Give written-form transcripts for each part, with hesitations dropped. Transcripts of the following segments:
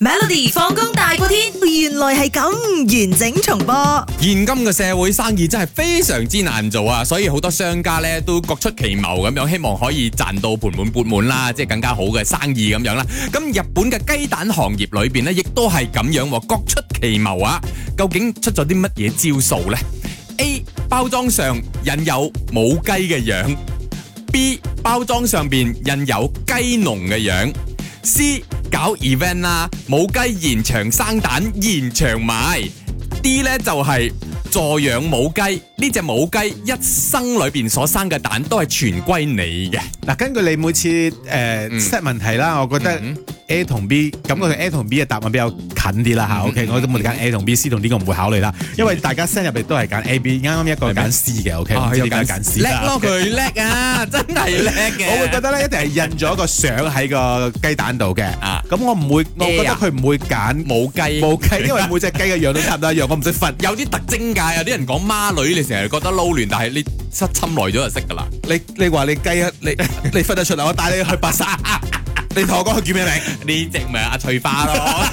Melody 放工大過天，原來係咁完整重播。 現今嘅社會生意真係非常之難做啊，所以好多商家咧都各出奇謀咁樣，希望可以賺到盆滿缽滿啦，即係更加好嘅生意咁樣啦。咁日本嘅雞蛋行業裏邊咧，亦都係咁樣，各出奇謀啊！究竟出咗啲乜嘢招數呢？ A 包裝上印有母雞嘅樣 ，B 包裝上邊印有雞農嘅樣 ，C 搞 event 啦，母雞現場生蛋現場賣 ，D 呢就係助養母雞，呢隻母雞一生裏邊所生嘅蛋都係全歸你嘅。 嗱，根據你每次set 問題啦，我覺得 A 同 B， 感覺佢 A 同 B 嘅答案比較近啲啦嚇。OK， 我都冇揀 A 同 B，C 同 D 我唔會考慮啦，因為大家 send 入嚟都係揀 A、B， 啱啱一個揀 C 嘅。OK， 唔知點解揀 C 叻咯，佢叻啊，真係叻嘅。 我會覺得咧，一定係印咗個相喺個雞蛋度嘅。咁我唔會，我覺得佢唔會揀母雞， 因為每隻雞嘅樣都差唔多一樣，我唔識分。 有啲特徵㗎，有啲人講孖女，你成日覺得撈亂，但係你失侵耐咗就識㗎啦。 你話你雞，你分得出嚟，我帶你去白沙。你同我講佢叫咩名？ 呢隻咪阿翠花咯。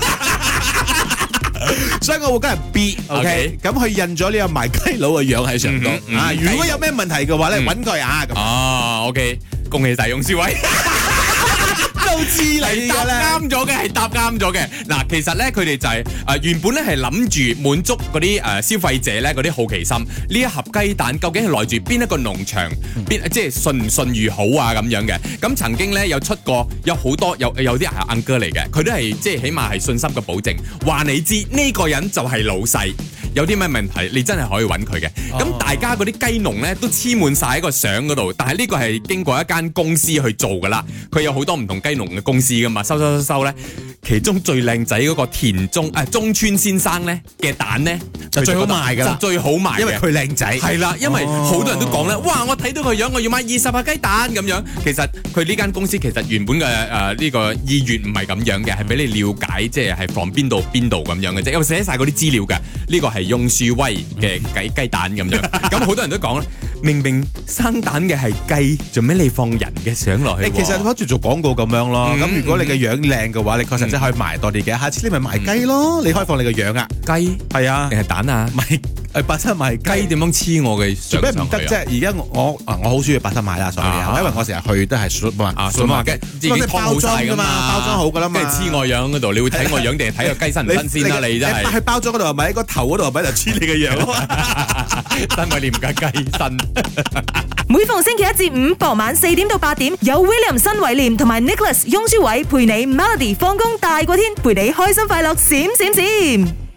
所以我會揀 B，OK， 咁佢印咗呢個賣雞佬嘅樣喺上度。如果有咩問題嘅話咧，揾佢啊。 哦，OK， 恭喜晒翁書偉。都知你㗎啦，啱咗嘅，係答啱咗嘅。嗱，其實咧佢哋就係原本咧係諗住滿足嗰啲消費者咧嗰啲好奇心，呢一盒雞蛋究竟係來自邊一個農場，即係信唔信譽好啊咁樣嘅。咁曾經咧有出過有好多有啲係阿哥嚟嘅，佢都係即係起碼係信心嘅保證，話你知呢個人就係老細。有啲咩問題，你真係可以揾佢嘅。咁大家嗰啲雞農咧都黐滿晒喺個相嗰度，但係呢個係經過一間公司去做噶啦。佢有好多唔同雞農嘅公司噶嘛，收咧。其中最靚仔嗰個中村先生咧嘅蛋咧就最好賣噶啦，就最好賣， 因為佢靚仔。 係啦，因為好多人都講咧，哇！我睇到個樣，我要買20盒雞蛋咁樣。其實佢呢間公司其實原本嘅呢個意願唔係咁樣嘅，係俾你了解，即係from邊度咁樣嘅啫。因為寫晒嗰啲資料嘅，呢個係翁書威嘅雞蛋咁樣。咁好多人都講咧，明明生蛋嘅係雞，做咩你放人嘅相落去？ 其實好似做廣告咁樣咯。咁如果你嘅樣靚嘅話，你確實真係可以賣多啲嘅。下次你咪賣雞咯，你可以放你嘅樣啊。 雞係啊，定係蛋啊？賣白沙賣雞點樣黐我嘅相上去啊？做咩唔得啫？而家我好中意白沙賣啦，所以因為我成日去都係數碼雞，即係包裝噶嘛，包裝好噶啦嘛。跟住黐我樣嗰度，你會睇我樣定係睇個雞新唔新鮮啊？你真係去包裝嗰度係咪喺個頭嗰度係咪就黐你嘅樣？ 真係廉價雞身。 每逢星期一至五傍晚4點到8點，有 William 新偉廉同埋 Nicholas 翁書偉陪你 Melody 放工大過天，陪你開心快樂閃閃閃。